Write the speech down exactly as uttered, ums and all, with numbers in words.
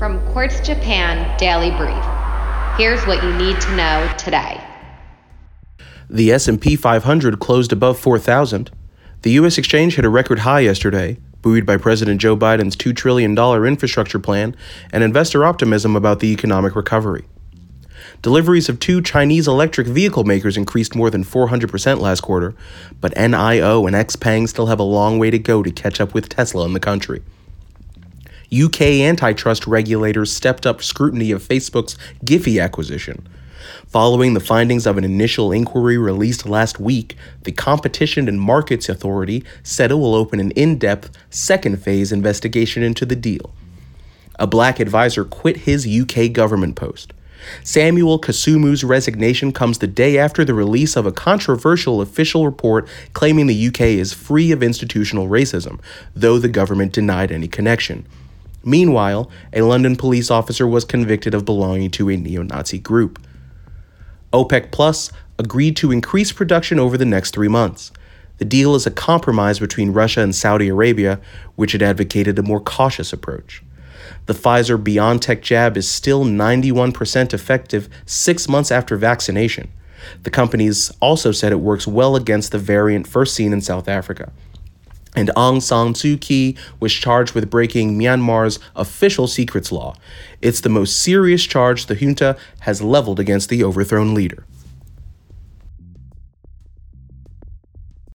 From Quartz Japan Daily Brief, here's what you need to know today. The S and P five hundred closed above four thousand. The U S exchange hit a record high yesterday, buoyed by President Joe Biden's two trillion dollars infrastructure plan and investor optimism about the economic recovery. Deliveries of two Chinese electric vehicle makers increased more than four hundred percent last quarter, but N I O and Xpeng still have a long way to go to catch up with Tesla in the country. U K antitrust regulators stepped up scrutiny of Facebook's Giphy acquisition. Following the findings of an initial inquiry released last week, the Competition and Markets Authority said it will open an in-depth second phase investigation into the deal. A black advisor quit his U K government post. Samuel Kasumu's resignation comes the day after the release of a controversial official report claiming the U K is free of institutional racism, though the government denied any connection. Meanwhile, a London police officer was convicted of belonging to a neo-Nazi group. OPEC Plus agreed to increase production over the next three months. The deal is a compromise between Russia and Saudi Arabia, which had advocated a more cautious approach. The Pfizer-BioNTech jab is still ninety-one percent effective six months after vaccination. The companies also said it works well against the variant first seen in South Africa. And Aung San Suu Kyi was charged with breaking Myanmar's official secrets law. It's the most serious charge the junta has leveled against the overthrown leader.